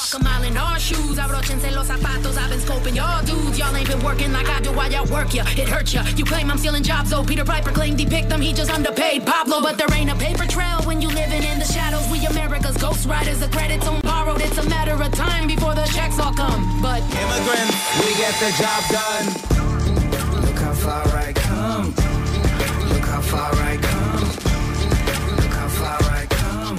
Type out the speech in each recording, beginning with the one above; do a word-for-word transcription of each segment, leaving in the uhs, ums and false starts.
Walk a mile in our shoes, abrochense los zapatos. I've been scoping y'all dudes. Y'all ain't been working like I do while y'all work ya. It hurt ya. You claim I'm stealing jobs, though. Peter Piper claimed he picked them. He just underpaid Pablo. But there ain't a paper trail when you living in the shadows. We America's ghost riders. The credits on borrowed. It's a matter of time before the checks all come. But immigrants, we get the job done. Look how far I come. Look how far I come. Look how far I come.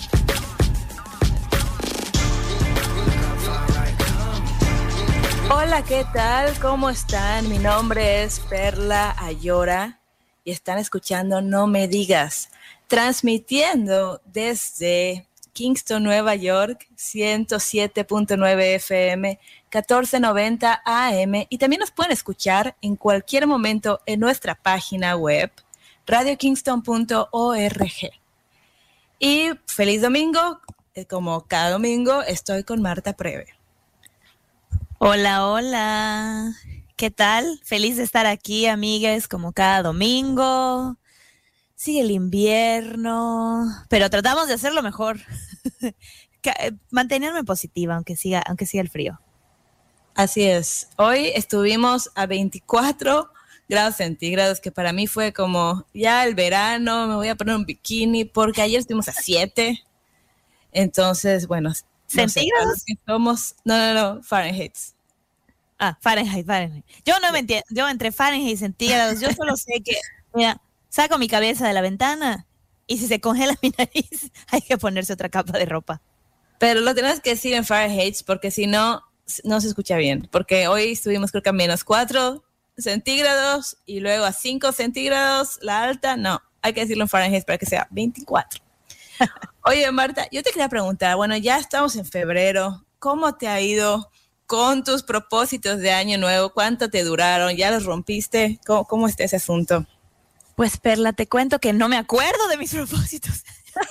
Look how far I come. Hola, ¿qué tal? ¿Cómo están? Mi nombre es Perla Ayora y están escuchando No Me Digas, transmitiendo desde Kingston, Nueva York, ciento siete punto nueve F M, catorce noventa A M, y también nos pueden escuchar en cualquier momento en nuestra página web radio kingston punto org. Y feliz domingo, como cada domingo estoy con Marta Preve. Hola, hola, ¿qué tal? Feliz de estar aquí, amigues, como cada domingo. Sigue el invierno, pero tratamos de hacerlo mejor. Mantenerme positiva, aunque siga, aunque siga el frío. Así es. Hoy estuvimos a veinticuatro grados centígrados, que para mí fue como ya el verano, me voy a poner un bikini, porque ayer estuvimos a siete. Entonces, bueno, ¿centígrados? No sé, somos, no, no, no, Fahrenheit. Ah, Fahrenheit, Fahrenheit. Yo no me entiendo, yo entre Fahrenheit y centígrados, yo solo sé que, mira, saco mi cabeza de la ventana y si se congela mi nariz, hay que ponerse otra capa de ropa. Pero lo tenemos que decir en Fahrenheit porque si no, no se escucha bien. Porque hoy estuvimos creo que a menos cuatro centígrados y luego a cinco centígrados la alta. No, hay que decirlo en Fahrenheit para que sea veinticuatro. Oye, Marta, yo te quería preguntar, bueno, ya estamos en febrero. ¿Cómo te ha ido con tus propósitos de año nuevo? ¿Cuánto te duraron? ¿Ya los rompiste? ¿Cómo, cómo está ese asunto? Pues, Perla, te cuento que no me acuerdo de mis propósitos.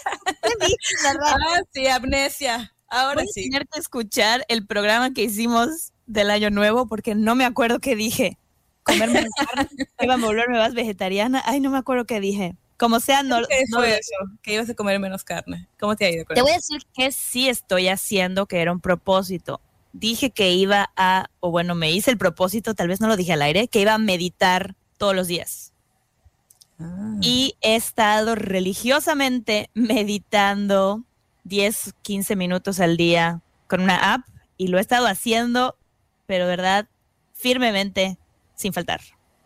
Ah, sí, amnesia. Ahora Voy sí. Voy a tener que escuchar el programa que hicimos del Año Nuevo porque no me acuerdo qué dije. Comer menos carne, iba a volverme más vegetariana. Ay, no me acuerdo qué dije. Como sea, no... ¿Qué no fue eso? Que ibas a comer menos carne. ¿Cómo te ha ido con Te eso? voy a decir que sí estoy haciendo, que era un propósito. Dije que iba a, o bueno, me hice el propósito, tal vez no lo dije al aire, que iba a meditar todos los días. Ah. Y he estado religiosamente meditando diez, quince minutos al día con una app y lo he estado haciendo, pero verdad, firmemente, sin faltar.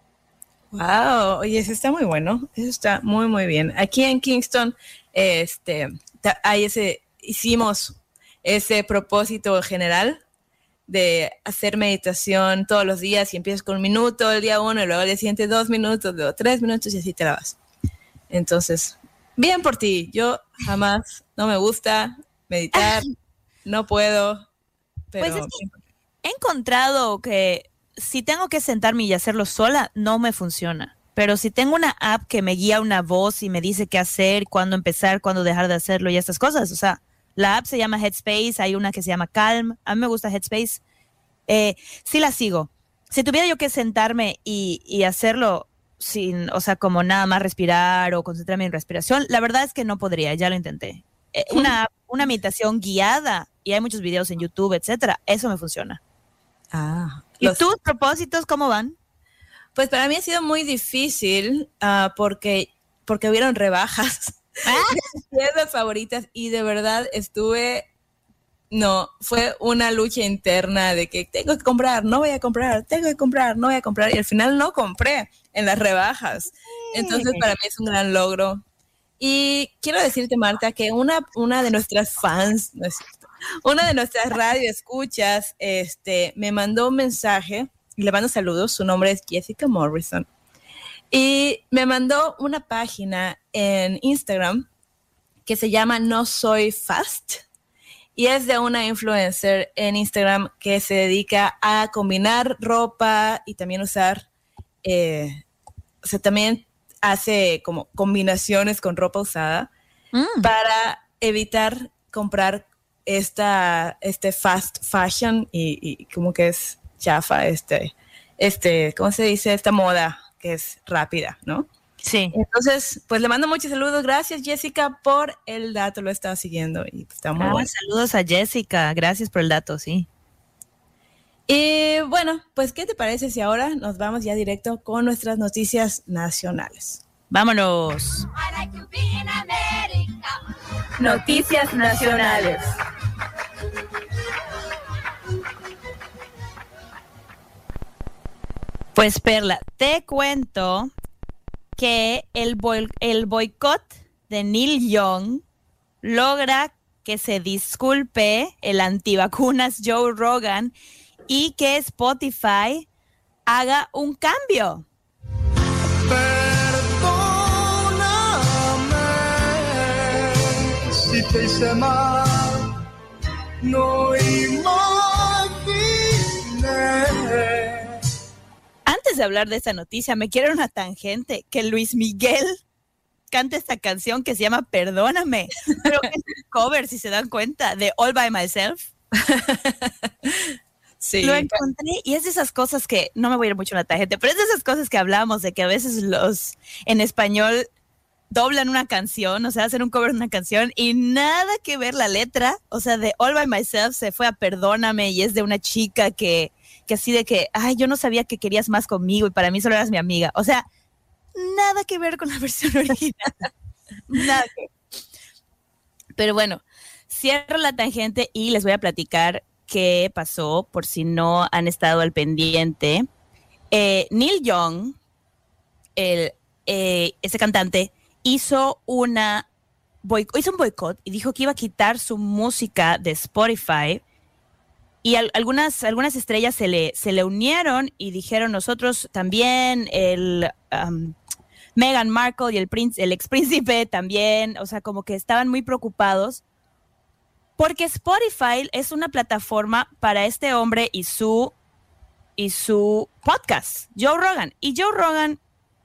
Wow, oye, eso está muy bueno, eso está muy, muy bien. Aquí en Kingston, este, hay ese, hicimos ese propósito general de hacer meditación todos los días y empiezas con un minuto el día uno y luego al día siguiente dos minutos, luego tres minutos y así te la vas. Entonces, bien por ti. Yo jamás, no me gusta meditar, no puedo, pero... Pues es que he encontrado que si tengo que sentarme y hacerlo sola, no me funciona. Pero si tengo una app que me guía una voz y me dice qué hacer, cuándo empezar, cuándo dejar de hacerlo y estas cosas, o sea... La app se llama Headspace, hay una que se llama Calm, a mí me gusta Headspace, eh, sí la sigo. Si tuviera yo que sentarme y, y hacerlo sin, o sea, como nada más respirar o concentrarme en respiración, la verdad es que no podría, ya lo intenté. Eh, una, una meditación guiada, y hay muchos videos en YouTube, etcétera, eso me funciona. Ah, ¿Y los... tus propósitos cómo van? Pues para mí ha sido muy difícil uh, porque, porque hubieron rebajas. ¿Ah? Mis tiendas favoritas y de verdad estuve, no, fue una lucha interna de que tengo que comprar, no voy a comprar, tengo que comprar, no voy a comprar y al final no compré en las rebajas. Entonces para mí es un gran logro. Y quiero decirte, Marta, que una, una de nuestras fans, no es cierto, una de nuestras radioescuchas este, me mandó un mensaje y le mando saludos, su nombre es Jessica Morrison. Y me mandó una página en Instagram que se llama No Soy Fast y es de una influencer en Instagram que se dedica a combinar ropa y también usar, eh, o sea, también hace como combinaciones con ropa usada mm. para evitar comprar esta, este fast fashion y, y como que es chafa, este, este, ¿cómo se dice? Esta moda que es rápida, ¿no? Sí. Entonces, pues le mando muchos saludos. Gracias, Jessica, por el dato. Lo he estado siguiendo y está muy Ah, bueno. saludos a Jessica. Gracias por el dato, sí. Y bueno, pues, ¿qué te parece si ahora nos vamos ya directo con nuestras noticias nacionales? Vámonos. Noticias nacionales. Pues Perla, te cuento que el, boy, el boicot de Neil Young logra que se disculpe el antivacunas Joe Rogan y que Spotify haga un cambio. Perdóname si te hice mal, no imaginé. Antes de hablar de esta noticia, me quiero una tangente que Luis Miguel canta esta canción que se llama Perdóname, pero que es un cover, si se dan cuenta, de All By Myself. Sí. Lo encontré y es de esas cosas que, no me voy a ir mucho a la tangente, pero es de esas cosas que hablamos, de que a veces los en español doblan una canción, o sea, hacen un cover de una canción y nada que ver la letra, o sea, de All By Myself se fue a Perdóname y es de una chica que, que así de que, ay, yo no sabía que querías más conmigo y para mí solo eras mi amiga, o sea, nada que ver con la versión original, nada que ver. Pero bueno, cierro la tangente y les voy a platicar qué pasó, por si no han estado al pendiente. Eh, Neil Young, el, eh, ese cantante, hizo, una boic- hizo un boicot y dijo que iba a quitar su música de Spotify. Y al, algunas, algunas estrellas se le, se le unieron y dijeron nosotros también, el um, Meghan Markle y el, princ- el ex príncipe también, o sea, como que estaban muy preocupados porque Spotify es una plataforma para este hombre y su, y su podcast, Joe Rogan. Y Joe Rogan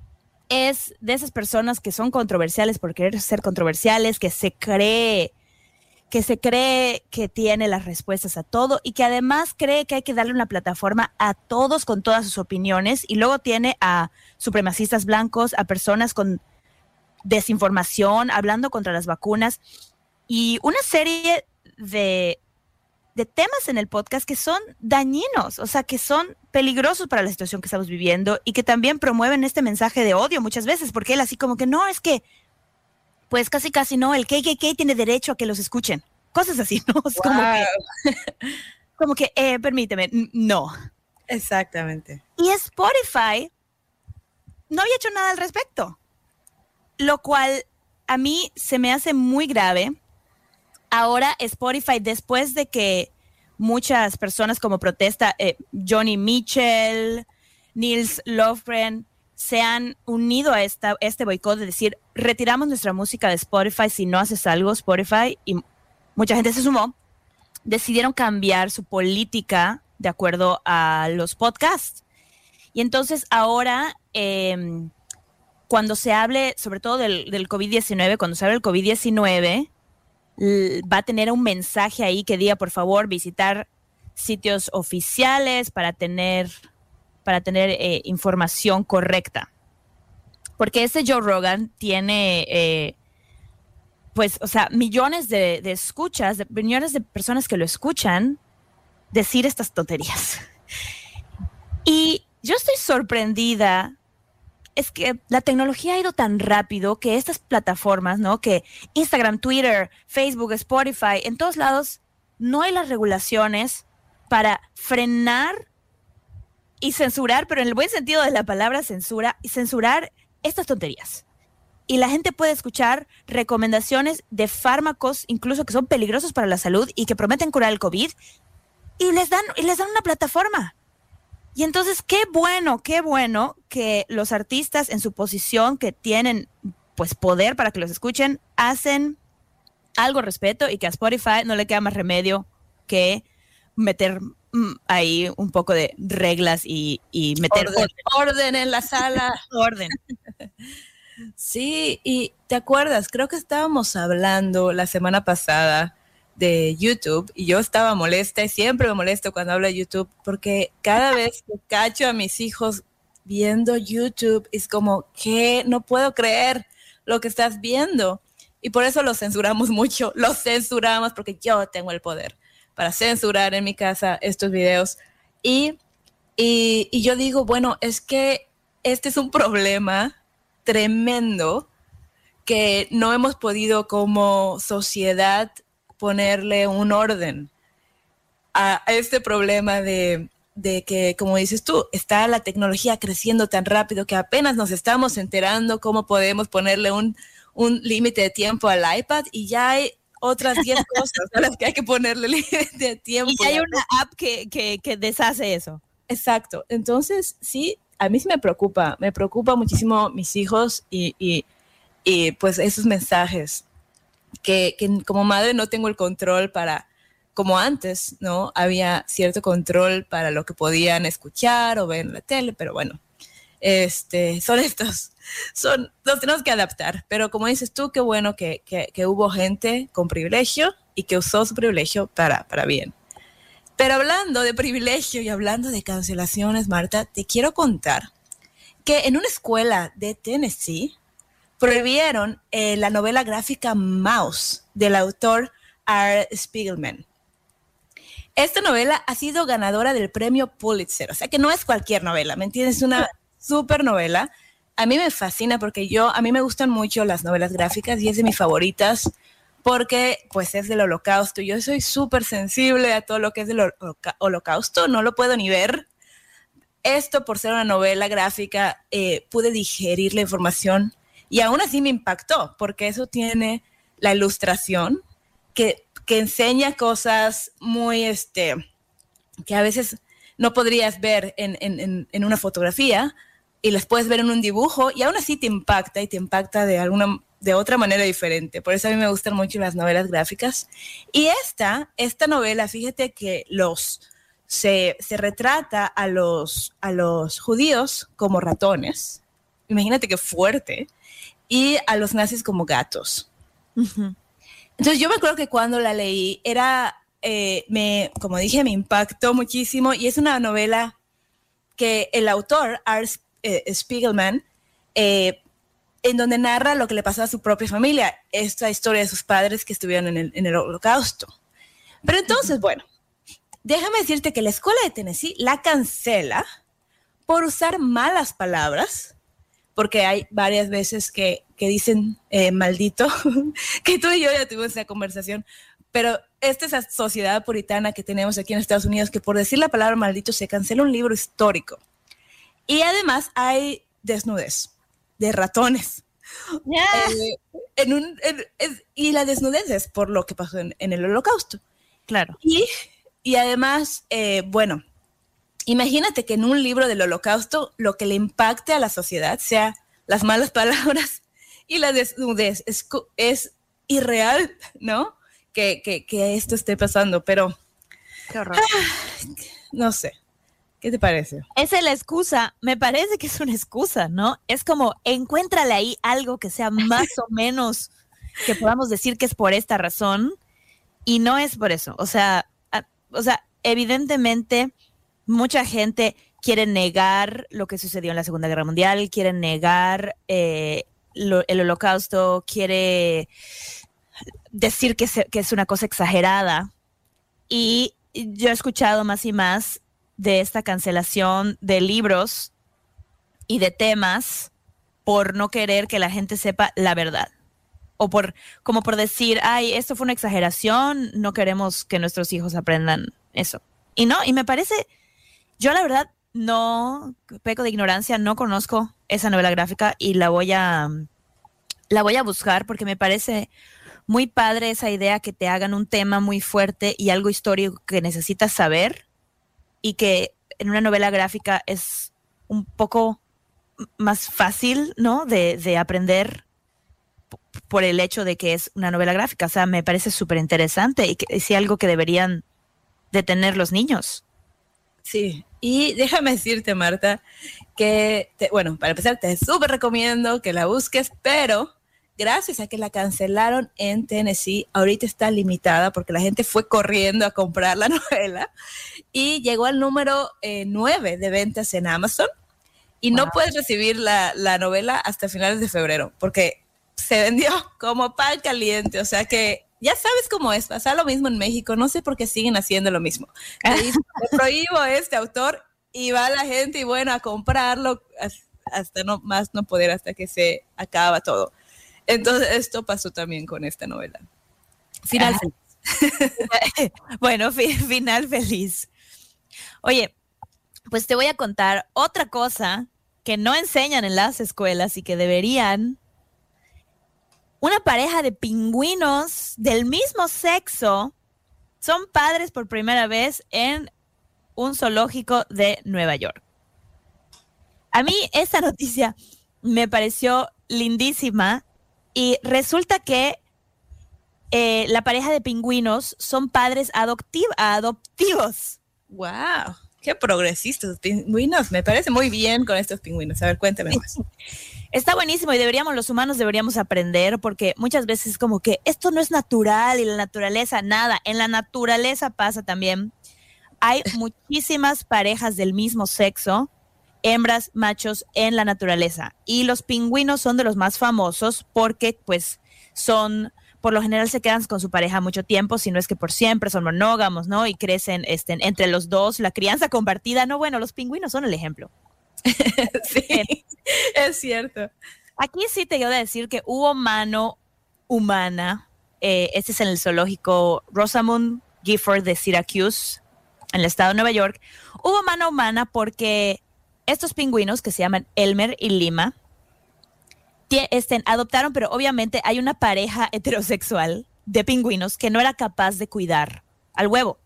es de esas personas que son controversiales por querer ser controversiales, que se cree, que se cree que tiene las respuestas a todo y que además cree que hay que darle una plataforma a todos con todas sus opiniones, y luego tiene a supremacistas blancos, a personas con desinformación, hablando contra las vacunas y una serie de, de temas en el podcast que son dañinos, o sea, que son peligrosos para la situación que estamos viviendo y que también promueven este mensaje de odio muchas veces, porque él así como que no, es que pues casi casi no, el K K K tiene derecho a que los escuchen. Cosas así, ¿no? Es como Wow. que, como que eh, permíteme, n- no. Exactamente. Y Spotify no había hecho nada al respecto, lo cual a mí se me hace muy grave. Ahora Spotify, después de que muchas personas como protesta, eh, Johnny Mitchell, Nils Lofgren, se han unido a esta, este boicot de decir, retiramos nuestra música de Spotify si no haces algo, Spotify, y mucha gente se sumó, decidieron cambiar su política de acuerdo a los podcasts. Y entonces ahora, eh, cuando se hable, sobre todo del, del COVID diecinueve, cuando se hable del COVID diecinueve, l- va a tener un mensaje ahí que diga, por favor, visitar sitios oficiales para tener... para tener eh, información correcta. Porque este Joe Rogan tiene, eh, pues, o sea, millones de, de escuchas, de, millones de personas que lo escuchan decir estas tonterías. Y yo estoy sorprendida, es que la tecnología ha ido tan rápido que estas plataformas, ¿no? Que Instagram, Twitter, Facebook, Spotify, en todos lados no hay las regulaciones para frenar y censurar, pero en el buen sentido de la palabra censura, y censurar estas tonterías. Y la gente puede escuchar recomendaciones de fármacos, incluso que son peligrosos para la salud y que prometen curar el COVID, y les dan, y les dan una plataforma. Y entonces, qué bueno, qué bueno que los artistas en su posición, que tienen pues poder para que los escuchen, hacen algo al respecto, y que a Spotify no le queda más remedio que meter ahí un poco de reglas y, y meter orden, orden en la sala. orden. Sí, y ¿te acuerdas? Creo que estábamos hablando la semana pasada de YouTube y yo estaba molesta y siempre me molesto cuando hablo de YouTube porque cada vez que cacho a mis hijos viendo YouTube. Es como, ¿qué? No puedo creer lo que estás viendo. Y por eso lo censuramos mucho. Lo censuramos porque yo tengo el poder para censurar en mi casa estos videos. Y, y, y yo digo, bueno, es que este es un problema tremendo que no hemos podido como sociedad ponerle un orden a, a este problema de, de que, como dices tú, está la tecnología creciendo tan rápido que apenas nos estamos enterando cómo podemos ponerle un, un límite de tiempo al iPad y ya hay otras diez cosas a las que hay que ponerle límite de tiempo. Y hay una app que, que, que deshace eso. Exacto. Entonces, sí, a mí sí me preocupa. Me preocupa muchísimo mis hijos y, y, y pues esos mensajes que, que como madre no tengo el control para, como antes, ¿no? Había cierto control para lo que podían escuchar o ver en la tele, pero bueno, este, son estos, son, los tenemos que adaptar. Pero como dices tú, qué bueno que, que, que hubo gente con privilegio y que usó su privilegio para, para bien. Pero hablando de privilegio y hablando de cancelaciones, Marta, te quiero contar que en una escuela de Tennessee prohibieron eh, la novela gráfica Mouse del autor R. Spiegelman. Esta novela ha sido ganadora del premio Pulitzer, o sea que no es cualquier novela, ¿me entiendes? Es una súper novela. A mí me fascina porque yo, a mí me gustan mucho las novelas gráficas y es de mis favoritas porque pues es del Holocausto. Yo soy súper sensible a todo lo que es del holoca- Holocausto, no lo puedo ni ver. Esto, por ser una novela gráfica, eh, pude digerir la información y aún así me impactó porque eso tiene la ilustración que, que enseña cosas muy, este, que a veces no podrías ver en, en, en, en una fotografía y las puedes ver en un dibujo y aún así te impacta y te impacta de alguna de otra manera diferente. Por eso a mí me gustan mucho las novelas gráficas. Y esta, esta novela, fíjate que los se, se retrata a los, a los judíos como ratones. Imagínate qué fuerte. Y a los nazis como gatos. Uh-huh. Entonces yo me acuerdo que cuando la leí, era, eh, me, como dije, me impactó muchísimo. Y es una novela que el autor, R. Spiegelman, eh, en donde narra lo que le pasó a su propia familia, esta historia de sus padres que estuvieron en el, en el Holocausto. Pero entonces, uh-huh. bueno, déjame decirte que la escuela de Tennessee la cancela por usar malas palabras, porque hay varias veces que, que dicen eh, maldito, que tú y yo ya tuvimos esa conversación, pero esta es la sociedad puritana que tenemos aquí en Estados Unidos, que por decir la palabra maldito se cancela un libro histórico. Y además hay desnudez de ratones. Yeah. Eh, en un, en, es, y la desnudez es por lo que pasó en, en el Holocausto. Claro. Y, y además, eh, bueno, imagínate que en un libro del Holocausto lo que le impacte a la sociedad sea las malas palabras y la desnudez. Es, es irreal, ¿no? Que, que, que esto esté pasando, pero... Qué horror. Ah, no sé. ¿Qué te parece? Esa es la excusa, me parece que es una excusa, ¿no? Es como, encuéntrale ahí algo que sea más o menos que podamos decir que es por esta razón y no es por eso. O sea, a, o sea, evidentemente mucha gente quiere negar lo que sucedió en la Segunda Guerra Mundial, quiere negar eh, lo, el Holocausto, quiere decir que, se, que es una cosa exagerada. Y yo he escuchado más y más de esta cancelación de libros y de temas por no querer que la gente sepa la verdad. O por, como por decir, ay, esto fue una exageración, no queremos que nuestros hijos aprendan eso. Y no, y me parece, yo la verdad no, peco de ignorancia, no conozco esa novela gráfica y la voy a, la voy a buscar porque me parece muy padre esa idea que te hagan un tema muy fuerte y algo histórico que necesitas saber y que en una novela gráfica es un poco más fácil, ¿no? De, de aprender p- por el hecho de que es una novela gráfica. O sea, me parece súper interesante y que es algo que deberían de tener los niños. Sí, y déjame decirte, Marta, que, te, bueno, para empezar, te súper recomiendo que la busques, pero gracias a que la cancelaron en Tennessee, ahorita está limitada porque la gente fue corriendo a comprar la novela y llegó al número eh, nueve de ventas en Amazon Y Wow. no puedes recibir la, la novela hasta finales de febrero, porque se vendió como pan caliente. O sea que ya sabes cómo es, pasa lo mismo en México. No sé por qué siguen haciendo lo mismo. Te dicen, te prohíbo este autor y va la gente y bueno, a comprarlo hasta no más no poder, hasta que se acaba todo. Entonces esto pasó también con esta novela. Final Ajá. feliz. Bueno, fi- final feliz. Oye, pues te voy a contar otra cosa que no enseñan en las escuelas y que deberían. Una pareja de pingüinos del mismo sexo son padres por primera vez en un zoológico de Nueva York. A mí esta noticia me pareció lindísima y resulta que eh, la pareja de pingüinos son padres adoptiv- adoptivos. Wow, qué progresistas pingüinos. Me parece muy bien con estos pingüinos. A ver, cuéntame más. Está buenísimo y deberíamos, los humanos deberíamos aprender, porque muchas veces como que esto no es natural y la naturaleza, nada, en la naturaleza pasa también. Hay muchísimas parejas del mismo sexo, hembras, machos, en la naturaleza. Y los pingüinos son de los más famosos porque pues son, por lo general se quedan con su pareja mucho tiempo, si no es que por siempre, son monógamos, ¿no? Y crecen este, entre los dos, la crianza compartida. No, bueno, los pingüinos son el ejemplo. Sí, es cierto. Aquí sí te quiero decir que hubo mano humana. Eh, este es en el zoológico Rosamund Gifford de Syracuse, en el estado de Nueva York. Hubo mano humana porque estos pingüinos, que se llaman Elmer y Lima, tie- este, adoptaron, pero obviamente hay una pareja heterosexual de pingüinos que no era capaz de cuidar al huevo.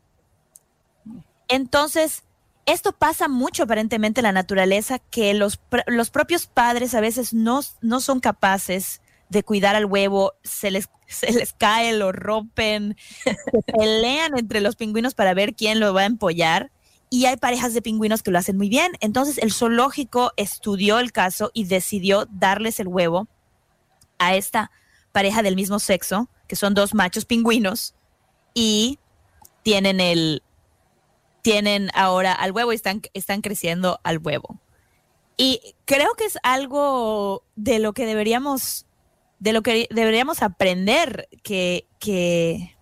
Entonces, esto pasa mucho aparentemente en la naturaleza, que los, pr- los propios padres a veces no, no son capaces de cuidar al huevo, se les, se les cae, lo rompen, se pelean entre los pingüinos para ver quién lo va a empollar, y hay parejas de pingüinos que lo hacen muy bien. Entonces el zoológico estudió el caso y decidió darles el huevo a esta pareja del mismo sexo, que son dos machos pingüinos, y tienen el tienen ahora al huevo y están, están creciendo al huevo. Y creo que es algo de lo que deberíamos, de lo que deberíamos aprender, que, que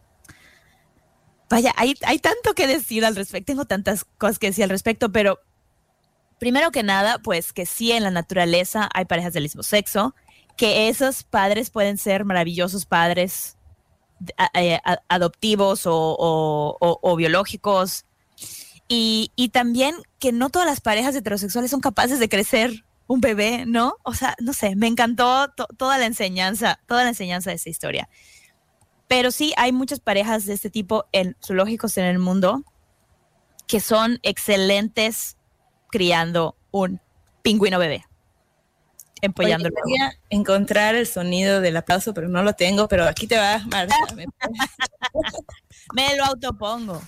vaya, hay, hay tanto que decir al respecto, tengo tantas cosas que decir al respecto, pero primero que nada, pues que sí, en la naturaleza hay parejas del mismo sexo, que esos padres pueden ser maravillosos padres a, a, adoptivos o, o, o, o biológicos. Y, y también que no todas las parejas heterosexuales son capaces de crecer un bebé, ¿no? O sea, no sé, me encantó to- toda la enseñanza, toda la enseñanza de esta historia. Pero sí, hay muchas parejas de este tipo en zoológicos en el mundo que son excelentes criando un pingüino bebé, empollando el huevo. Quería encontrar el sonido del aplauso, pero no lo tengo, pero aquí te va, Marta. Me- Me lo autopongo.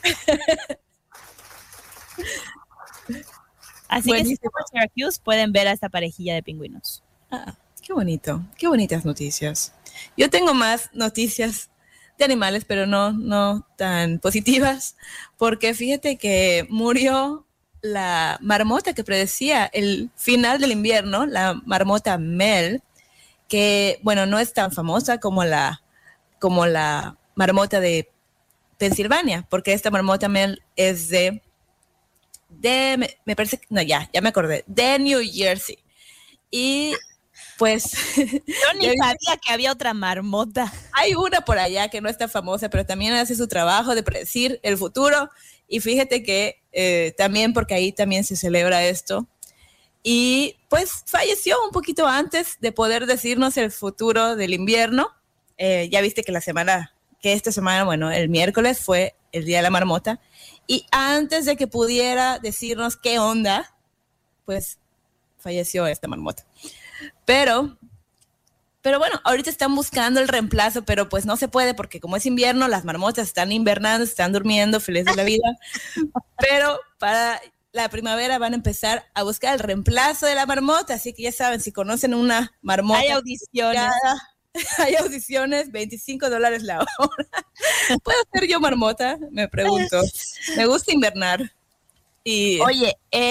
Así Buenísimo. que si están en Syracuse pueden ver a esta parejilla de pingüinos. Ah, qué bonito, qué bonitas noticias. Yo tengo más noticias de animales, pero no, no tan positivas, porque fíjate que murió la marmota que predecía el final del invierno, la marmota Mel, que, bueno, no es tan famosa como la, como la marmota de Pensilvania, porque esta marmota Mel es de, de me, me parece, que- no, ya, ya me acordé, de New Jersey. Y pues Yo ni Ya vi- sabía que había otra marmota. hay una por allá que no está famosa, pero también hace su trabajo de predecir el futuro. Y fíjate que eh, también, porque ahí también se celebra esto. Y pues falleció un poquito antes de poder decirnos el futuro del invierno. Eh, ya viste que la semana, que esta semana, bueno, el miércoles fue el Día de la Marmota. Y antes de que pudiera decirnos qué onda, pues falleció esta marmota. Pero, pero bueno, ahorita están buscando el reemplazo, pero pues no se puede porque como es invierno, las marmotas están invernando, están durmiendo, felices de la vida. Pero para la primavera van a empezar a buscar el reemplazo de la marmota, así que ya saben, si conocen una marmota, Hay audiciones. ya, hay audiciones, veinticinco dólares la hora. ¿Puedo ser yo marmota? Me pregunto. Me gusta invernar. Y Oye, el,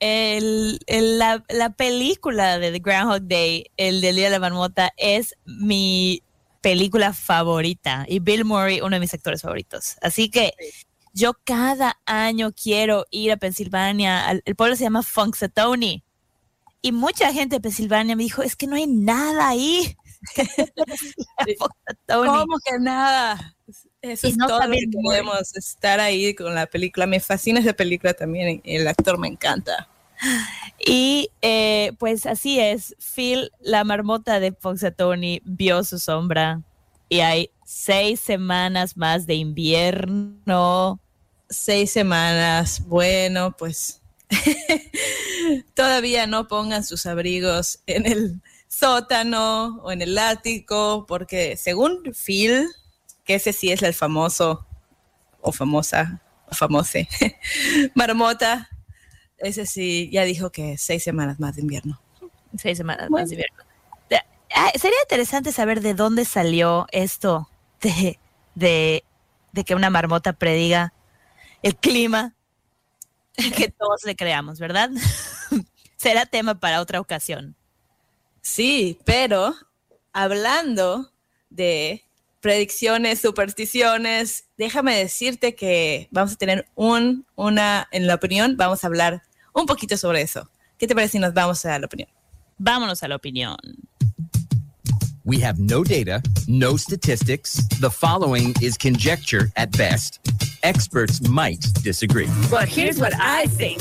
el, el- la, la película de The Groundhog Day, el del Día de la Marmota, es mi película favorita. Y Bill Murray, uno de mis actores favoritos. Así que yo cada año quiero ir a Pensilvania. al- El pueblo se llama Punxsutawney. Y mucha gente de Pensilvania me dijo, es que no hay nada ahí. Punxsutawney. ¿Cómo que nada? Eso Y es no todo lo sabía que Bill queremos, estar ahí con la película. Me fascina esa película también, el actor me encanta. Y eh, pues así es, Phil, la marmota de Punxsutawney, vio su sombra y hay seis semanas más de invierno. Seis semanas, bueno, pues todavía no pongan sus abrigos en el sótano o en el ático, porque según Phil, que ese sí es el famoso o famosa o famose marmota, ese sí ya dijo que seis semanas más de invierno. Seis semanas Bueno. más de invierno. De- ah, sería interesante saber de dónde salió esto de, de, de que una marmota prediga el clima y que todos le creamos, ¿verdad? Será tema para otra ocasión. Sí, pero hablando de predicciones, supersticiones, déjame decirte que vamos a tener un, una, en la opinión, vamos a hablar un poquito sobre eso. ¿Qué te parece si nos vamos a la opinión? Vámonos a la opinión. We have no data, no statistics. The following is conjecture at best. Experts might disagree. But here's what I think.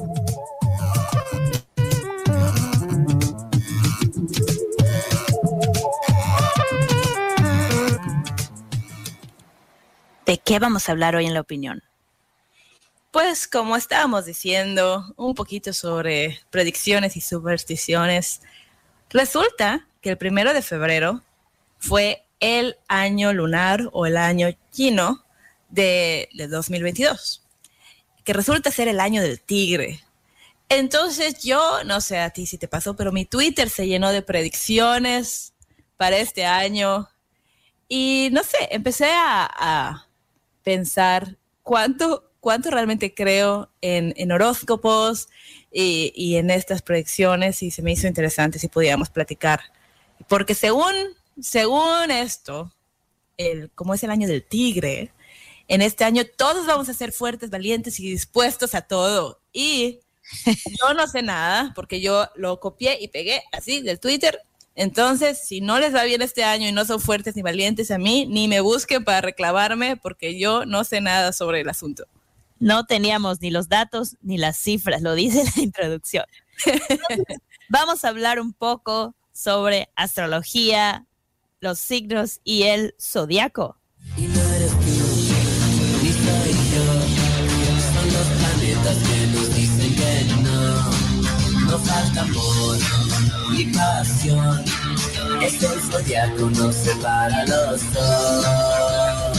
¿De qué vamos a hablar hoy en la opinión? Pues como estábamos diciendo, un poquito sobre predicciones y supersticiones. Resulta que el primero de febrero fue el año lunar o el año chino de, de dos mil veintidós, que resulta ser el año del tigre. Entonces yo, no sé a ti si te pasó, pero mi Twitter se llenó de predicciones para este año y no sé, empecé a, a pensar cuánto, cuánto realmente creo en, en horóscopos y, y en estas predicciones y se me hizo interesante si podíamos platicar. Porque según, según esto, el, como es el año del tigre, en este año todos vamos a ser fuertes, valientes y dispuestos a todo. Y yo no sé nada porque yo lo copié y pegué así del Twitter. Entonces, si no les va bien este año y no son fuertes ni valientes a mí, ni me busquen para reclamarme porque yo no sé nada sobre el asunto. No teníamos ni los datos ni las cifras, lo dice la introducción. Entonces, vamos a hablar un poco sobre astrología, los signos y el zodiaco. Y no eres tú, ni soy yo. Son los planetas que nos dicen que no. No falta amor ni pasión. Es el zodiaco, nos separa los dos.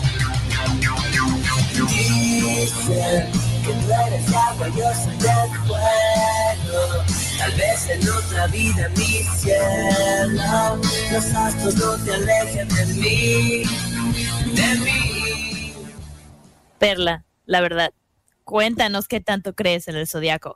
Dicen que tú eres agua, yo soy del fuego. Tal vez en otra vida mi cielo. Los astros no te alejen de mí, de mí. Perla, la verdad, cuéntanos qué tanto crees en el zodiaco.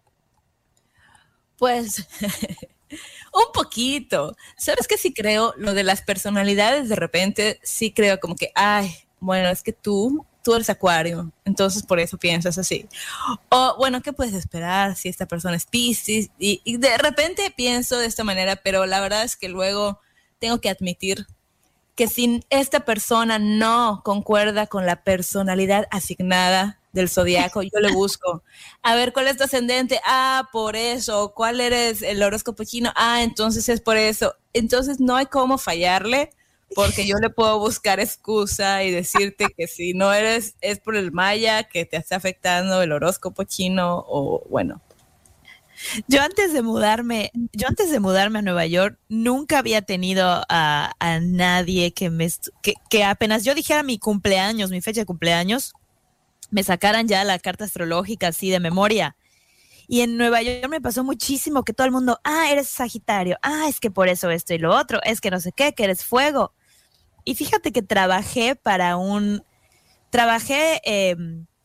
Pues un poquito. ¿Sabes qué? Sí creo lo de las personalidades de repente, sí creo como que, ay, bueno, es que tú, tú eres Acuario, entonces por eso piensas así. O bueno, ¿qué puedes esperar si esta persona es Piscis? Y, y de repente pienso de esta manera, pero la verdad es que luego tengo que admitir que si esta persona no concuerda con la personalidad asignada del zodiaco, yo le busco. A ver, ¿cuál es tu ascendente? Ah, por eso. ¿Cuál eres el horóscopo chino? Ah, entonces es por eso. Entonces no hay cómo fallarle, porque yo le puedo buscar excusa y decirte que si no eres, es por el maya que te está afectando el horóscopo chino o bueno. Yo antes de mudarme, yo antes de mudarme a Nueva York, nunca había tenido a, a nadie que me estu- que, que apenas yo dijera mi cumpleaños, mi fecha de cumpleaños, me sacaran ya la carta astrológica así de memoria. Y en Nueva York me pasó muchísimo que todo el mundo, ah, eres Sagitario, ah, es que por eso esto y lo otro, es que no sé qué, que eres fuego. Y fíjate que trabajé para un, trabajé eh,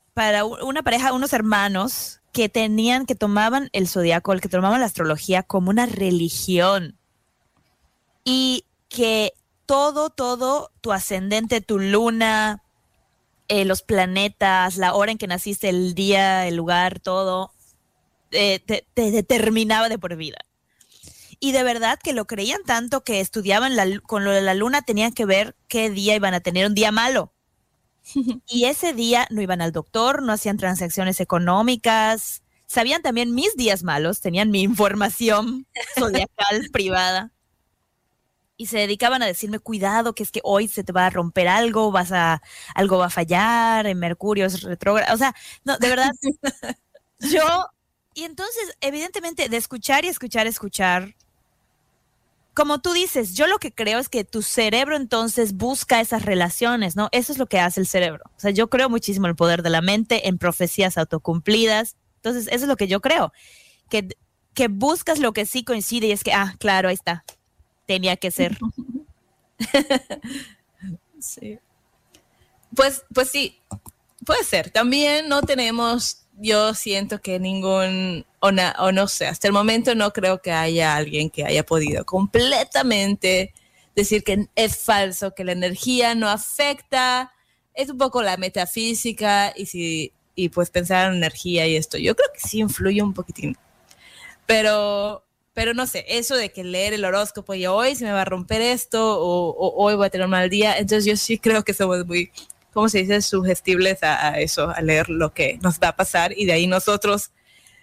para una pareja, unos hermanos que tenían, que tomaban el zodiaco, que tomaban la astrología como una religión. Y que todo, todo, tu ascendente, tu luna, eh, los planetas, la hora en que naciste, el día, el lugar, todo, eh, te, te determinaba de por vida. Y de verdad que lo creían tanto que estudiaban la, con lo de la luna, tenían que ver qué día iban a tener un día malo. Y ese día no iban al doctor, no hacían transacciones económicas, sabían también mis días malos, tenían mi información zodiacal privada. Y se dedicaban a decirme, cuidado, que es que hoy se te va a romper algo, vas a, algo va a fallar, en Mercurio es retrógrado. O sea, no, de verdad, yo, y entonces, evidentemente, de escuchar y escuchar, escuchar, como tú dices, yo lo que creo es que tu cerebro entonces busca esas relaciones, ¿no? Eso es lo que hace el cerebro. O sea, yo creo muchísimo en el poder de la mente, en profecías autocumplidas. Entonces, eso es lo que yo creo, que, que buscas lo que sí coincide y es que, ah, claro, ahí está. Tenía que ser. Sí. Pues, pues sí, puede ser. También no tenemos, yo siento que ningún, o, na, o no sé, hasta el momento no creo que haya alguien que haya podido completamente decir que es falso, que la energía no afecta. Es un poco la metafísica y, si, y pues pensar en energía y esto. Yo creo que sí influye un poquitín. Pero... Pero no sé, eso de que leer el horóscopo y hoy se me va a romper esto o, o hoy voy a tener un mal día, entonces yo sí creo que somos muy, ¿cómo se dice?, sugestibles a, a eso, a leer lo que nos va a pasar y de ahí nosotros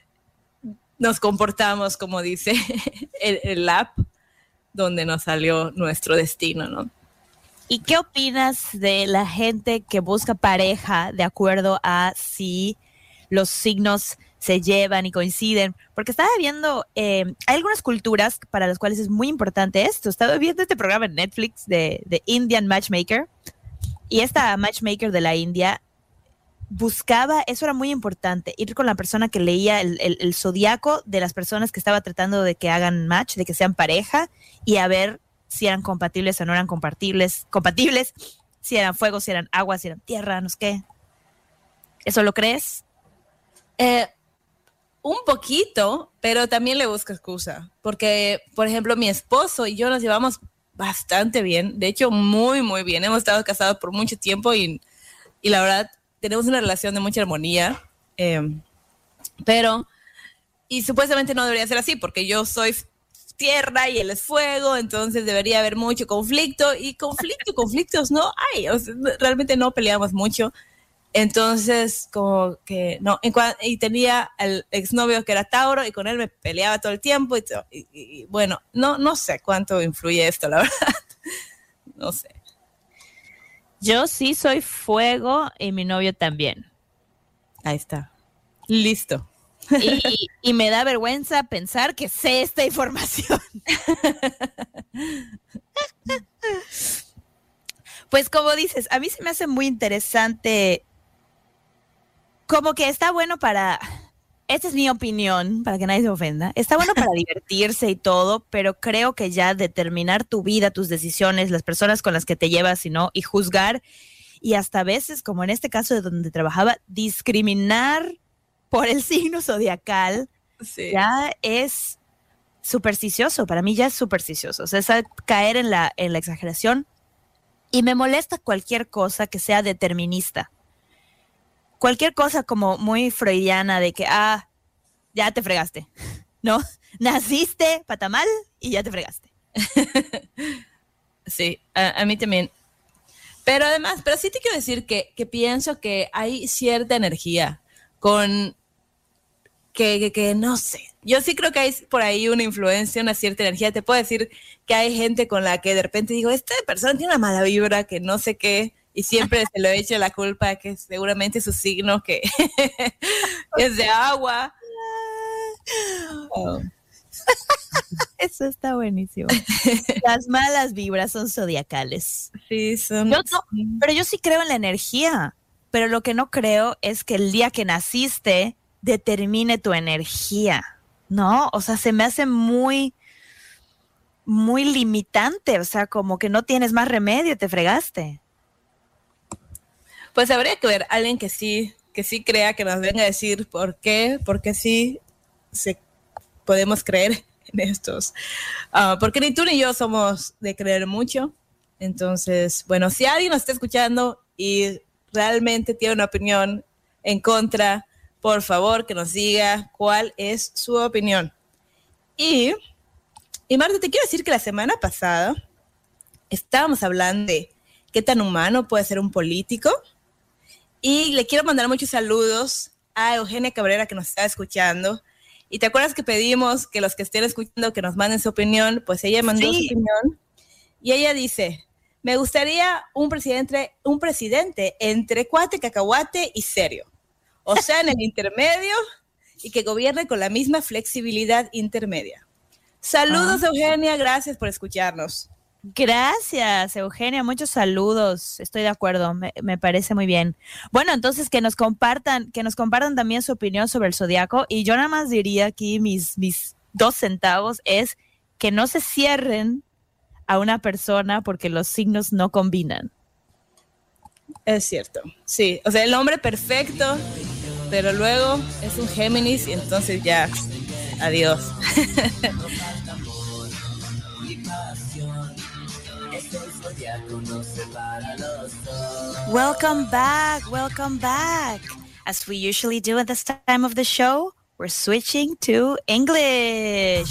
nos comportamos como dice el, el app donde nos salió nuestro destino, ¿no? ¿Y qué opinas de la gente que busca pareja de acuerdo a si los signos se llevan y coinciden? Porque estaba viendo, eh, hay algunas culturas para las cuales es muy importante esto. Estaba viendo este programa en Netflix de, de Indian Matchmaker, y esta matchmaker de la India buscaba, eso era muy importante, ir con la persona que leía el, el, el zodiaco de las personas que estaba tratando de que hagan match, de que sean pareja, y a ver si eran compatibles o no eran compatibles, compatibles, si eran fuego, si eran agua, si eran tierra, no sé qué. ¿Eso lo crees? Eh, un poquito, pero también le busco excusa, porque, por ejemplo, mi esposo y yo nos llevamos bastante bien, de hecho, muy, muy bien. Hemos estado casados por mucho tiempo y, y la verdad, tenemos una relación de mucha armonía, eh, pero, y supuestamente no debería ser así, porque yo soy tierra y él es fuego, entonces debería haber mucho conflicto, y conflicto, conflictos no hay, o sea, realmente no peleamos mucho. Entonces, como que no, en cua- y tenía el exnovio que era Tauro y con él me peleaba todo el tiempo y, to- y, y bueno, no, no sé cuánto influye esto, la verdad, no sé. Yo sí soy fuego y mi novio también. Ahí está, listo. Y, y me da vergüenza pensar que sé esta información. Pues como dices, a mí se me hace muy interesante. Como que está bueno para, esta es mi opinión, para que nadie se ofenda, está bueno para divertirse y todo, pero creo que ya determinar tu vida, tus decisiones, las personas con las que te llevas y no, y juzgar, y hasta a veces, como en este caso de donde trabajaba, discriminar por el signo zodiacal, Sí. ya es supersticioso, para mí ya es supersticioso, o sea, es caer en la, en la exageración, y me molesta cualquier cosa que sea determinista. Cualquier cosa como muy freudiana de que, ah, ya te fregaste, ¿no? Naciste patamal y ya te fregaste. Sí, a, a mí también. Pero además, pero sí te quiero decir que, que pienso que hay cierta energía con que, que, que no sé. Yo sí creo que hay por ahí una influencia, una cierta energía. Te puedo decir que hay gente con la que de repente digo, esta persona tiene una mala vibra, que no sé qué, y siempre se lo he hecho la culpa que seguramente su signo que es de agua. Oh. Eso está buenísimo. Las malas vibras son zodiacales. Sí, son... Yo no, pero yo sí creo en la energía, pero lo que no creo es que el día que naciste determine tu energía, ¿no? O sea, se me hace muy, muy limitante, o sea, como que no tienes más remedio, te fregaste. Pues habría que ver a alguien que sí, que sí crea, que nos venga a decir por qué, porque sí se, podemos creer en estos. Uh, porque ni tú ni yo somos de creer mucho. Entonces, bueno, si alguien nos está escuchando y realmente tiene una opinión en contra, por favor, que nos diga cuál es su opinión. Y, y Marta, te quiero decir que la semana pasada estábamos hablando de qué tan humano puede ser un político. Y le quiero mandar muchos saludos a Eugenia Cabrera, que nos está escuchando. Y te acuerdas que pedimos que los que estén escuchando que nos manden su opinión, pues ella mandó sí. su opinión. Y ella dice, me gustaría un presidente, un presidente entre cuate, cacahuate y serio. O sea, en el intermedio, y que gobierne con la misma flexibilidad intermedia. Saludos, ah. Eugenia, gracias por escucharnos. Gracias, Eugenia, muchos saludos, estoy de acuerdo, me, me parece muy bien. Bueno, entonces que nos compartan, que nos compartan también su opinión sobre el zodiaco, y yo nada más diría aquí mis, mis dos centavos es que no se cierren a una persona porque los signos no combinan. Es cierto, sí, o sea, el hombre perfecto, pero luego es un Géminis y entonces ya, adiós. Welcome back, welcome back. As we usually do at this time of the show, we're switching to English.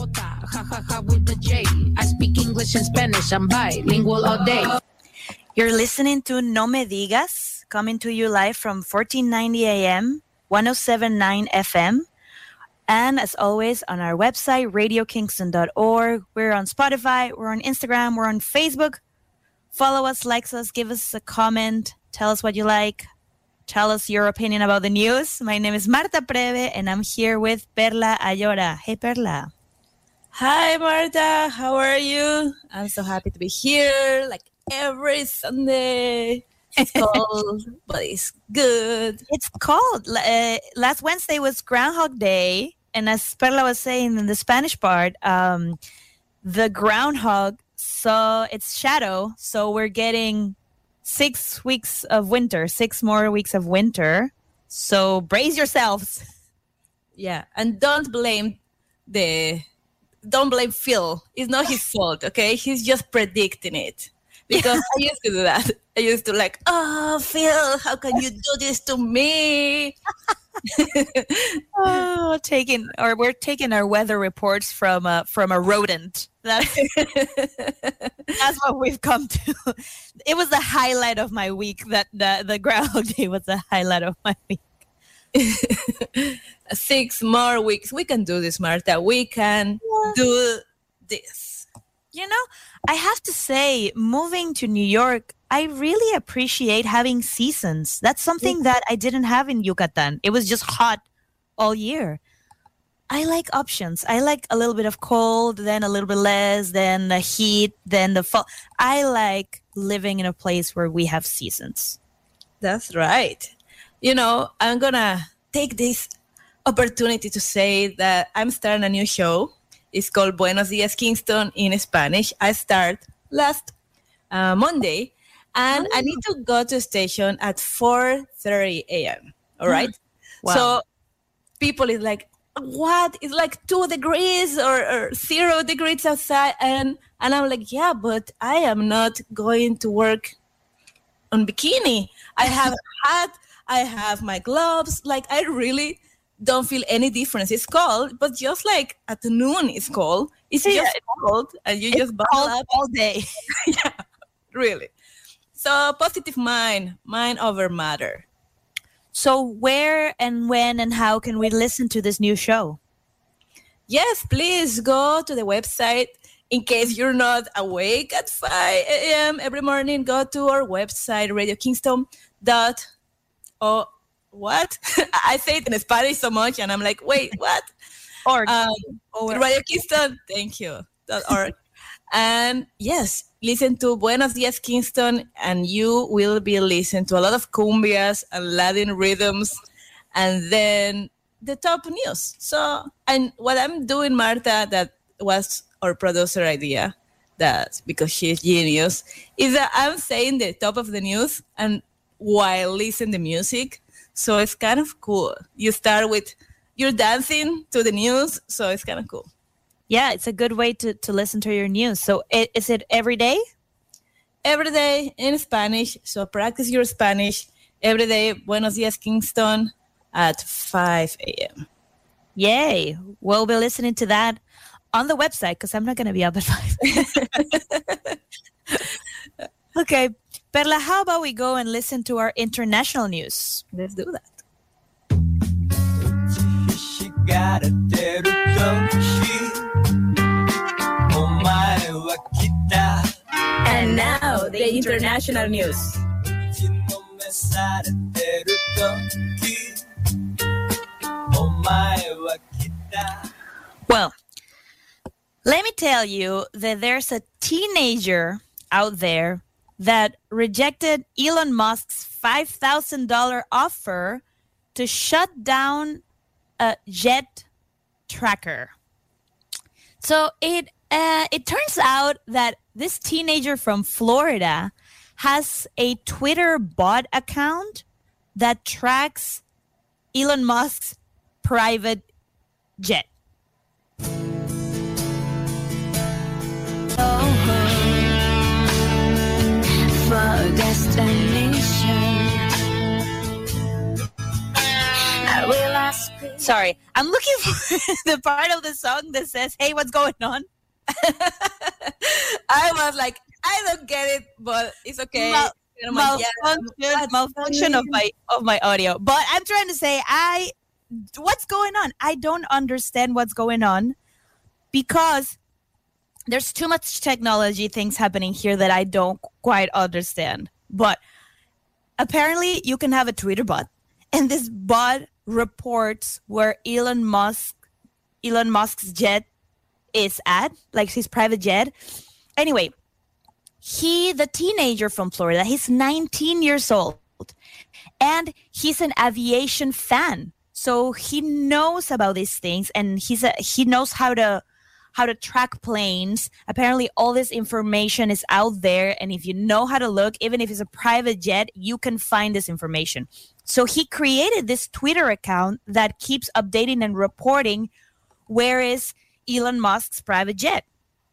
I speak English and Spanish, I'm bilingual all day. You're listening to No Me Digas, coming to you live from fourteen ninety A M, one oh seven point nine F M. And as always, on our website, radio kingston dot org. We're on Spotify, we're on Instagram, we're on Facebook. Follow us, like us, give us a comment, tell us what you like, tell us your opinion about the news. My name is Marta Preve, and I'm here with Perla Ayora. Hey, Perla. Hi, Marta. How are you? I'm so happy to be here, like every Sunday. It's cold, but it's good. It's cold. Uh, last Wednesday was Groundhog Day, and as Perla was saying in the Spanish part, um, the groundhog saw its shadow, so we're getting six weeks of winter, six more weeks of winter. So brace yourselves. Yeah, and don't blame the, don't blame Phil. It's not his fault, okay? He's just predicting it. Because I used to do that. I used to like, oh, Phil, how can you do this to me? oh, taking or we're taking our weather reports from a from a rodent. That's that's what we've come to. It was the highlight of my week. That the the Groundhog Day was the highlight of my week. Six more weeks. We can do this, Marta. We can yeah. do this. You know, I have to say, moving to New York, I really appreciate having seasons. That's something that I didn't have in Yucatan. It was just hot all year. I like options. I like a little bit of cold, then a little bit less, then the heat, then the fall. I like living in a place where we have seasons. That's right. You know, I'm going to take this opportunity to say that I'm starting a new show. It's called Buenos Dias Kingston in Spanish. I start last uh, Monday, and oh. I need to go to the station at four thirty a.m. All right? Wow. So people is like, what? It's like two degrees or, or zero degrees outside. And, and I'm like, yeah, but I am not going to work on bikini. I have a hat. I have my gloves. Like, I really don't feel any difference. It's cold, but just like at noon it's cold. It's yeah, just cold, and you just bundle up all day. Yeah, really. So positive mind, mind over matter. So where and when and how can we listen to this new show? Yes, please go to the website. In case you're not awake at five a.m. every morning, go to our website, radio kingston dot org. What? I say it in Spanish so much, and I'm like, wait, what? Org. Um, Radio Kingston, thank you. .org. And yes, listen to Buenos Dias Kingston, and you will be listening to a lot of cumbias and Latin rhythms, and then the top news. So, and what I'm doing, Marta, that was our producer idea, that because she's genius, is that I'm saying the top of the news and while listening to music. So it's kind of cool. You start with, you're dancing to the news, so it's kind of cool. Yeah, it's a good way to, to listen to your news. So it, is it every day? Every day in Spanish. So practice your Spanish every day. Buenos dias, Kingston at five a.m. Yay. We'll be listening to that on the website because I'm not going to be up at five. Okay. Perla, how about we go and listen to our international news? Let's do that. She got a And now, the international news. Well, let me tell you that there's a teenager out there that rejected Elon Musk's five thousand dollars offer to shut down a jet tracker. So it uh, it turns out that this teenager from Florida has a Twitter bot account that tracks Elon Musk's private jet. For destination, I will ask. Sorry, I'm looking for the part of the song that says, "Hey, what's going on?" I was like, I don't get it, but it's okay. Mal- You know, my- yeah, malfunction, what's malfunction of my of my audio. But I'm trying to say, I what's going on? I don't understand what's going on because there's too much technology things happening here that I don't quite understand. But apparently, you can have a Twitter bot, and this bot reports where Elon Musk, Elon Musk's jet is at, like his private jet. Anyway, he, the teenager from Florida, he's nineteen years old, and he's an aviation fan. So he knows about these things, and he's a, he knows how to how to track planes. Apparently, all this information is out there, and if you know how to look, even if it's a private jet, you can find this information. So he created this Twitter account that keeps updating and reporting where is Elon Musk's private jet.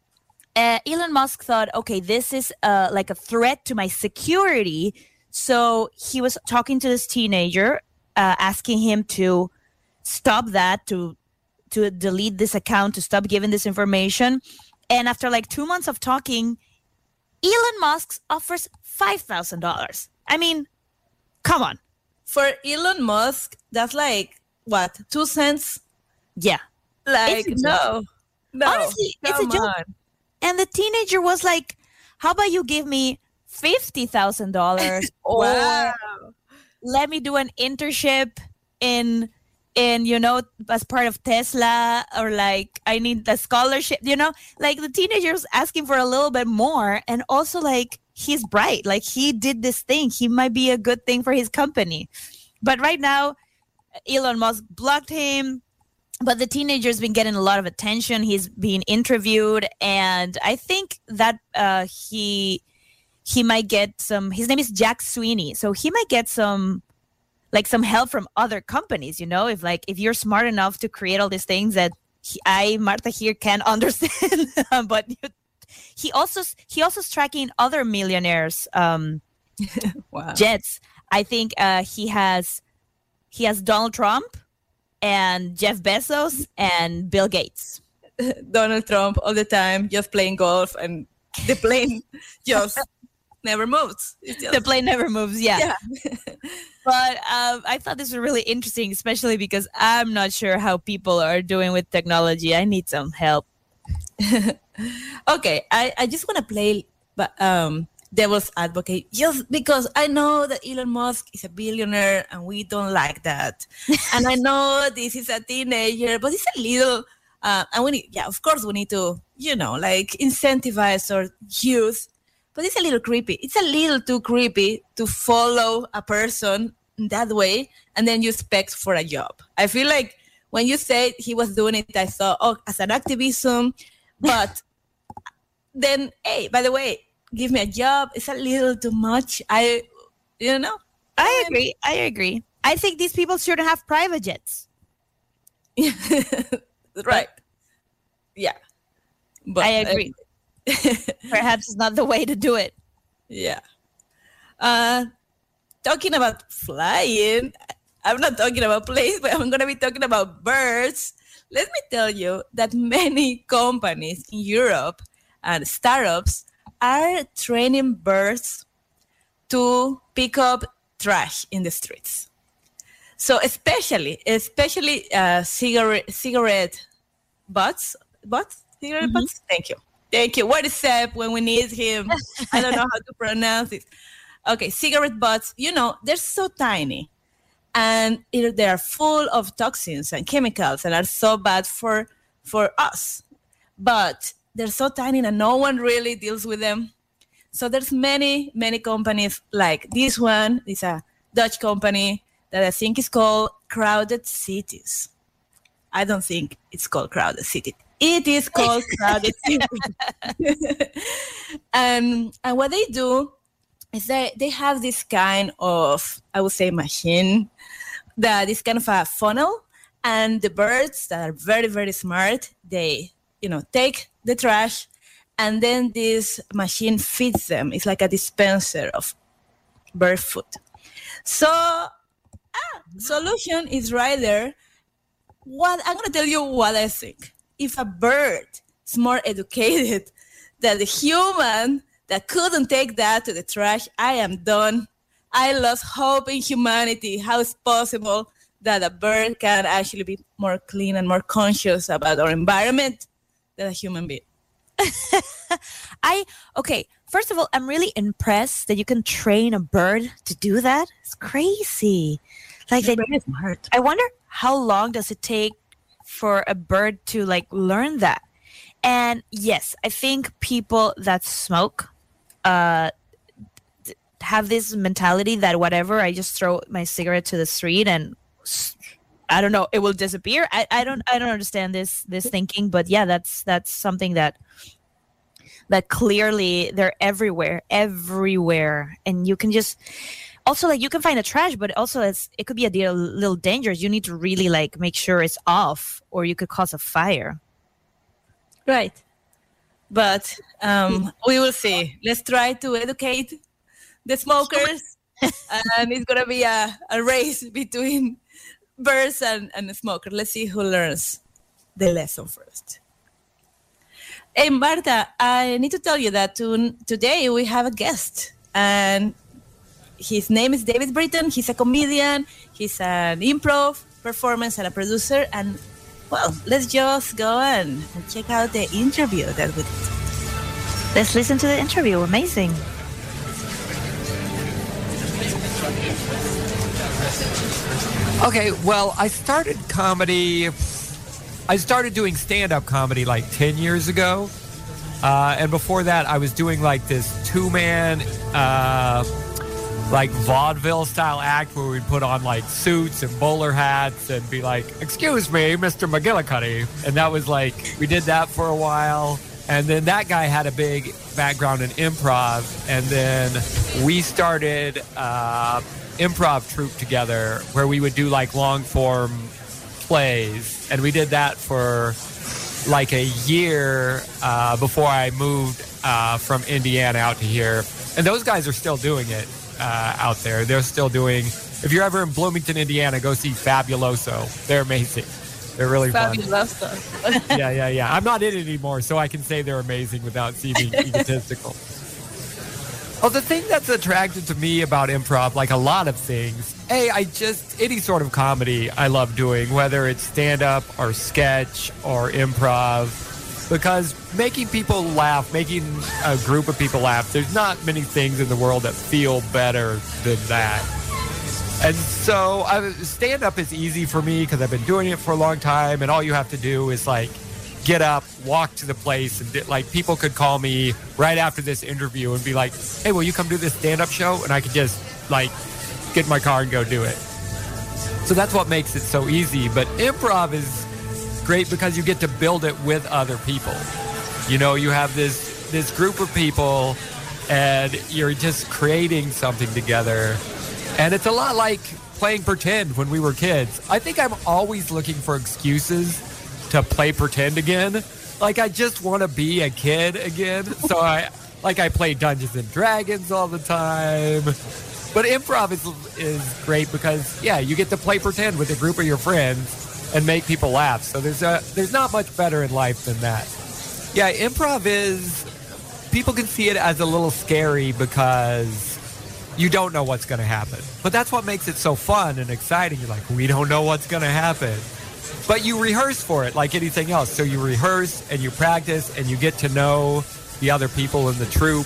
Uh, Elon Musk thought, okay, this is uh, like a threat to my security. So he was talking to this teenager, uh, asking him to stop that, to to delete this account, to stop giving this information. And after like two months of talking, Elon Musk offers five thousand dollars. I mean, come on. For Elon Musk, that's like, what, two cents? Yeah. Like, It's a no. No. Honestly, it's a come joke. on. And the teenager was like, how about you give me fifty thousand dollars or Wow. let me do an internship in, in, you know, as part of Tesla, or like I need the scholarship, you know, like the teenager's asking for a little bit more. And also like, he's bright, like he did this thing. He might be a good thing for his company. But right now, Elon Musk blocked him. But the teenager's been getting a lot of attention. He's being interviewed, and I think that uh, he he might get some. His name is Jack Sweeney, so he might get some, like some help from other companies. You know, if like if you're smart enough to create all these things that he, I Marta here can't understand, but he also he also is tracking other millionaires' um, Wow. jets. I think uh, he has he has Donald Trump and Jeff Bezos and Bill Gates. Donald Trump all the time, just playing golf, and the plane just never moves. It's just, The plane never moves, yeah. yeah. But um, I thought this was really interesting, especially because I'm not sure how people are doing with technology. I need some help. Okay, I, I just want to play but, um, devil's advocate, just because I know that Elon Musk is a billionaire and we don't like that. And I know this is a teenager, but it's a little, uh, and we need, yeah, of course we need to, you know, like incentivize our youth, but it's a little creepy. It's a little too creepy to follow a person that way and then you expect for a job. I feel like when you said he was doing it, I thought, oh, as an activism, but then, hey, by the way, give me a job. It's a little too much. I, you know. I agree. I agree. I think these people shouldn't have private jets. Right. Yeah. But I agree. Perhaps it's not the way to do it. Yeah. Uh, talking about flying, I'm not talking about planes, but I'm going to be talking about birds. Let me tell you that many companies in Europe and startups are training birds to pick up trash in the streets. So especially, especially uh, cigarette cigarette butts, butts, cigarette mm-hmm. butts. Thank you, thank you. What is Seb when we need him? I don't know how to pronounce it. Okay, cigarette butts. You know, they're so tiny, and it, they are full of toxins and chemicals, and are so bad for for us. But they're so tiny, and no one really deals with them. So there's many, many companies like this one. It's a Dutch company that I think is called Crowded Cities. I don't think it's called Crowded City. It is called Crowded City. and, and what they do is that they have this kind of, I would say, machine that is kind of a funnel. And the birds that are very, very smart, they, you know, take the trash, and then this machine feeds them. It's like a dispenser of bird food. So, ah, solution is right there. What I'm gonna tell you what I think. If a bird is more educated than the human that couldn't take that to the trash, I am done. I lost hope in humanity. How is possible that a bird can actually be more clean and more conscious about our environment than a human being? I okay. First of all, I'm really impressed that you can train a bird to do that. It's crazy. Like, they, smart. I wonder how long does it take for a bird to like learn that? And yes, I think people that smoke uh, have this mentality that whatever, I just throw my cigarette to the street and I don't know, it will disappear. I, I don't I don't understand this this thinking, but yeah, that's that's something that that clearly they're everywhere, everywhere, and you can just also like you can find a trash, but also it's it could be a deal, little dangerous. You need to really like make sure it's off, or you could cause a fire. Right, but um, we will see. Let's try to educate the smokers, and it's gonna be a, a race between birds and, and smokers. Let's see who learns the lesson first. Hey, Marta, I need to tell you that to, today we have a guest, and his name is David Britton. He's a comedian, he's an improv performance and a producer, and, well, let's just go and, and check out the interview that we did. Let's listen to the interview. Amazing. Okay, well, I started comedy, I started doing stand-up comedy like ten years ago. Uh, and before that, I was doing like this two-man, uh, like vaudeville-style act where we'd put on like suits and bowler hats and be like, "Excuse me, Mister McGillicuddy." And that was like, we did that for a while. And then that guy had a big background in improv. And then we started... Uh, improv troupe together where we would do like long form plays, and we did that for like a year uh, before I moved uh, from Indiana out to here. And those guys are still doing it uh, out there. They're still doing, if you're ever in Bloomington, Indiana, go see Fabuloso. They're amazing. They're really Fabuloso. fun. yeah, yeah, yeah. I'm not in it anymore, so I can say they're amazing without seeming egotistical. Well, the thing that's attracted to me about improv, like a lot of things, hey, I just, any sort of comedy I love doing, whether it's stand-up or sketch or improv, because making people laugh, making a group of people laugh, there's not many things in the world that feel better than that. And so I, stand-up is easy for me because I've been doing it for a long time, and all you have to do is like, get up, walk to the place, and like people could call me right after this interview and be like, "Hey, will you come do this stand-up show?" And I could just like get in my car and go do it. So that's what makes it so easy. But improv is great because you get to build it with other people. You know, you have this this group of people and you're just creating something together. And it's a lot like playing pretend when we were kids. I think I'm always looking for excuses to play pretend again. Like, I just want to be a kid again. So I, like, I play Dungeons and Dragons all the time. But improv is is great because, yeah, you get to play pretend with a group of your friends and make people laugh. So there's a, there's not much better in life than that. Yeah, improv is, people can see it as a little scary because you don't know what's going to happen. But that's what makes it so fun and exciting. You're like, we don't know what's going to happen. But you rehearse for it like anything else. So you rehearse and you practice and you get to know the other people in the troupe.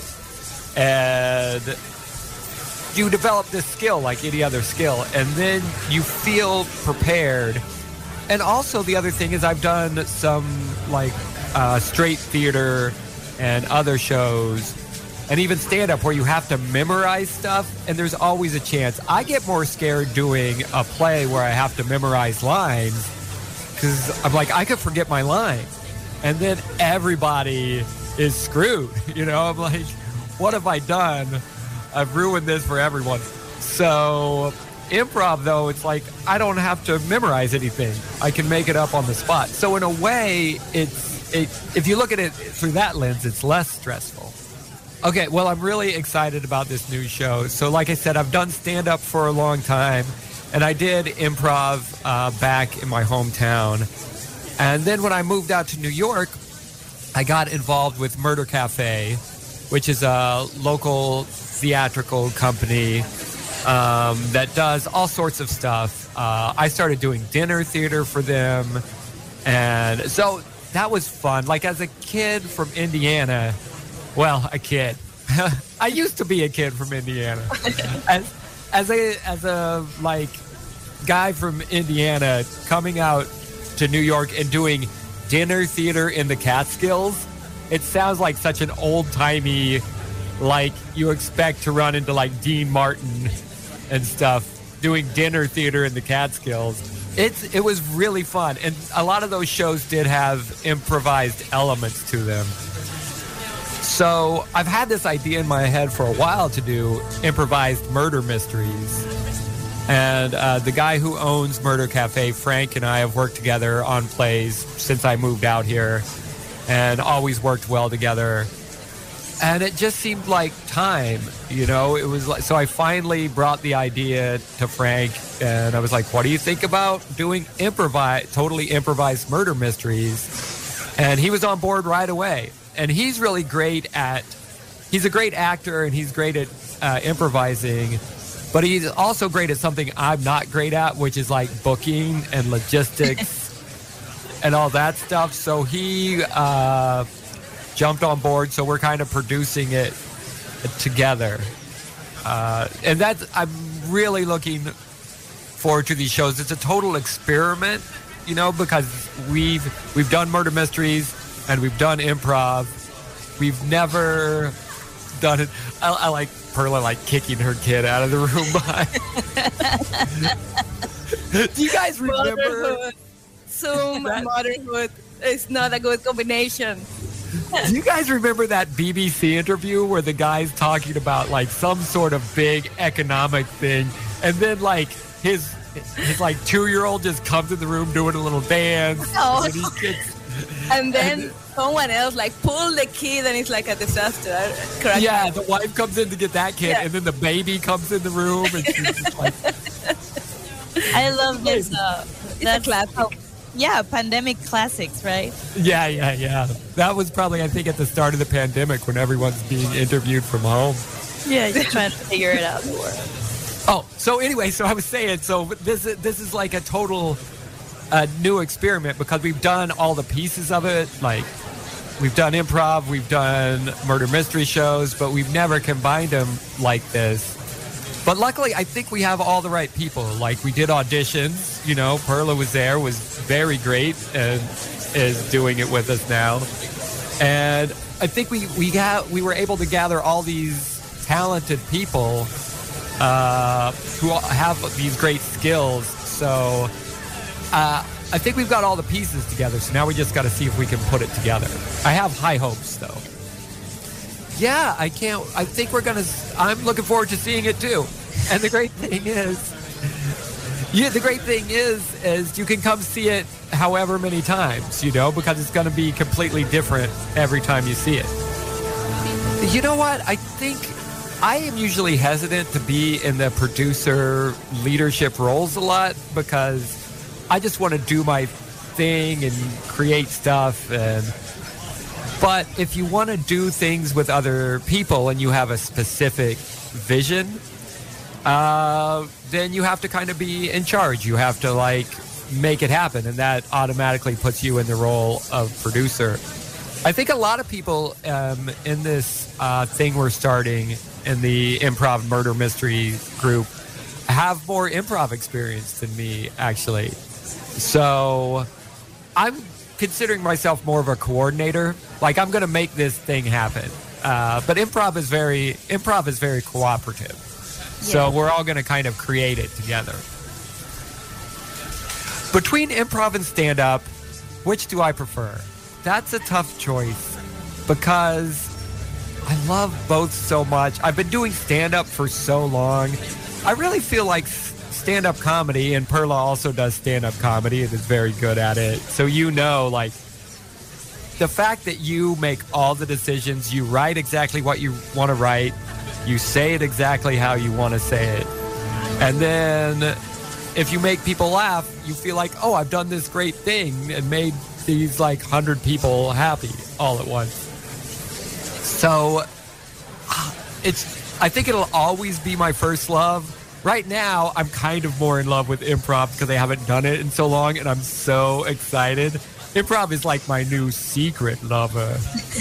And you develop this skill like any other skill. And then you feel prepared. And also the other thing is I've done some like uh, straight theater and other shows and even stand-up where you have to memorize stuff, and there's always a chance. I get more scared doing a play where I have to memorize lines because I'm like, I could forget my line, and then everybody is screwed. You know, I'm like, what have I done? I've ruined this for everyone. So improv, though, it's like I don't have to memorize anything. I can make it up on the spot. So in a way, it's it, if you look at it through that lens, it's less stressful. Okay, well, I'm really excited about this new show. So like I said, I've done stand-up for a long time, and I did improv uh, back in my hometown. And then when I moved out to New York, I got involved with Murder Cafe, which is a local theatrical company um, that does all sorts of stuff. Uh, I started doing dinner theater for them. And so that was fun. Like as a kid from Indiana, well, a kid. I used to be a kid from Indiana. As, as a as a like guy from Indiana coming out to New York and doing dinner theater in the Catskills, it sounds like such an old-timey, like you expect to run into like Dean Martin and stuff, doing dinner theater in the Catskills. It's it was really fun, and a lot of those shows did have improvised elements to them. So I've had this idea in my head for a while to do improvised murder mysteries. And uh, the guy who owns Murder Cafe, Frank, and I have worked together on plays since I moved out here and always worked well together. And it just seemed like time, you know, it was like, so I finally brought the idea to Frank and I was like, what do you think about doing improvise, totally improvised murder mysteries? And he was on board right away. And he's really great at, he's a great actor and he's great at uh, improvising, but he's also great at something I'm not great at, which is like booking and logistics and all that stuff. So he uh, jumped on board. So we're kind of producing it together. Uh, and that's, I'm really looking forward to these shows. It's a total experiment, you know, because we've, we've done murder mysteries, and we've done improv. We've never done it. I, I like Perla like kicking her kid out of the room behind. Do you guys remember? Motherhood. Zoom and motherhood is not a good combination. Do you guys remember that B B C interview where the guy's talking about like some sort of big economic thing, and then like his his like two-year-old just comes in the room doing a little dance, Oh. and he gets. And then someone else like pull the kid and it's like a disaster. Correct? Yeah, the wife comes in to get that kid, Yeah. and then the baby comes in the room, and she's just like, I love this. Uh, It's a classic. oh, yeah, pandemic classics, right? yeah, yeah, yeah. That was probably, I think, at the start of the pandemic when everyone's being interviewed from home. Yeah, you're trying to figure it out. Oh, so anyway, so I was saying, so this is, this is like a total uh, new experiment because we've done all the pieces of it. Like, we've done improv, we've done murder mystery shows, but we've never combined them like this. But luckily, I think we have all the right people. Like, we did auditions, you know, Perla was there, was very great, and is doing it with us now. And I think we, we, got, we were able to gather all these talented people uh, who have these great skills. So uh, I think we've got all the pieces together. So now we just got to see if we can put it together. I have high hopes, though. Yeah, I can't. I think we're going to. I'm looking forward to seeing it, too. And the great thing is, Yeah, the great thing is, is you can come see it however many times, you know, because it's going to be completely different every time you see it. You know what? I think I am usually hesitant to be in the producer leadership roles a lot because I just want to do my thing and create stuff. And but if you want to do things with other people and you have a specific vision, uh, then you have to kind of be in charge. You have to like make it happen, and that automatically puts you in the role of producer. I think a lot of people um, in this uh, thing we're starting in the improv murder mystery group have more improv experience than me, actually. So I'm considering myself more of a coordinator. Like, I'm going to make this thing happen. Uh, but improv is very improv is very cooperative. Yeah. So we're all going to kind of create it together. Between improv and stand-up, which do I prefer? That's a tough choice because I love both so much. I've been doing stand-up for so long. I really feel like stand-up comedy, and Perla also does stand-up comedy and is very good at it. So you know, like, the fact that you make all the decisions, you write exactly what you want to write, you say it exactly how you want to say it, and then if you make people laugh, you feel like, oh, I've done this great thing and made these like hundred people happy all at once. So it's, I think it'll always be my first love. Right now, I'm kind of more in love with improv because I haven't done it in so long, and I'm so excited. Improv is like my new secret lover.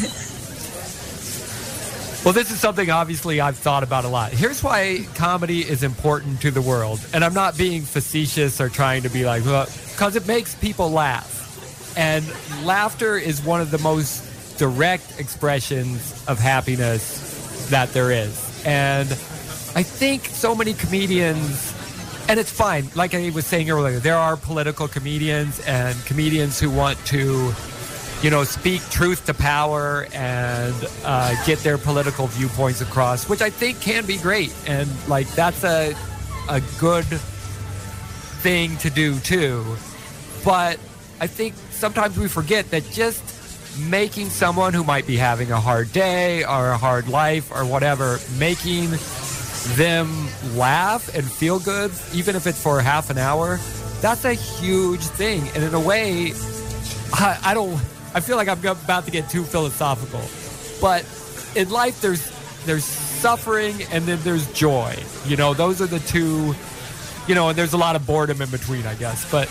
Well, this is something obviously I've thought about a lot. Here's why comedy is important to the world. And I'm not being facetious or trying to be like, well, because it makes people laugh. And laughter is one of the most direct expressions of happiness that there is. And I think so many comedians, and it's fine, like I was saying earlier, there are political comedians and comedians who want to, you know, speak truth to power and uh, get their political viewpoints across, which I think can be great. And like, that's a, a good thing to do too. But I think sometimes we forget that just making someone who might be having a hard day or a hard life or whatever, making them laugh and feel good, even if it's for half an hour, that's a huge thing. And in a way, I, I don't, I feel like I'm about to get too philosophical, but in life there's there's suffering and then there's joy. You know, those are the two, you know, and there's a lot of boredom in between, I guess. But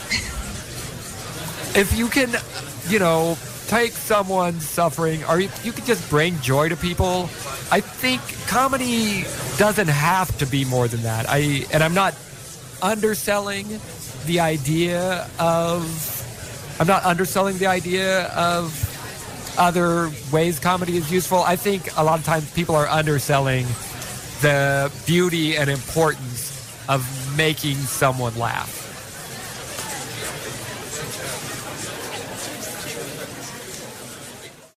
if you can, you know, take someone's suffering, or if you can just bring joy to people, I think comedy doesn't have to be more than that. I and I'm not underselling the idea of I'm not underselling the idea of other ways comedy is useful. I think a lot of times people are underselling the beauty and importance of making someone laugh.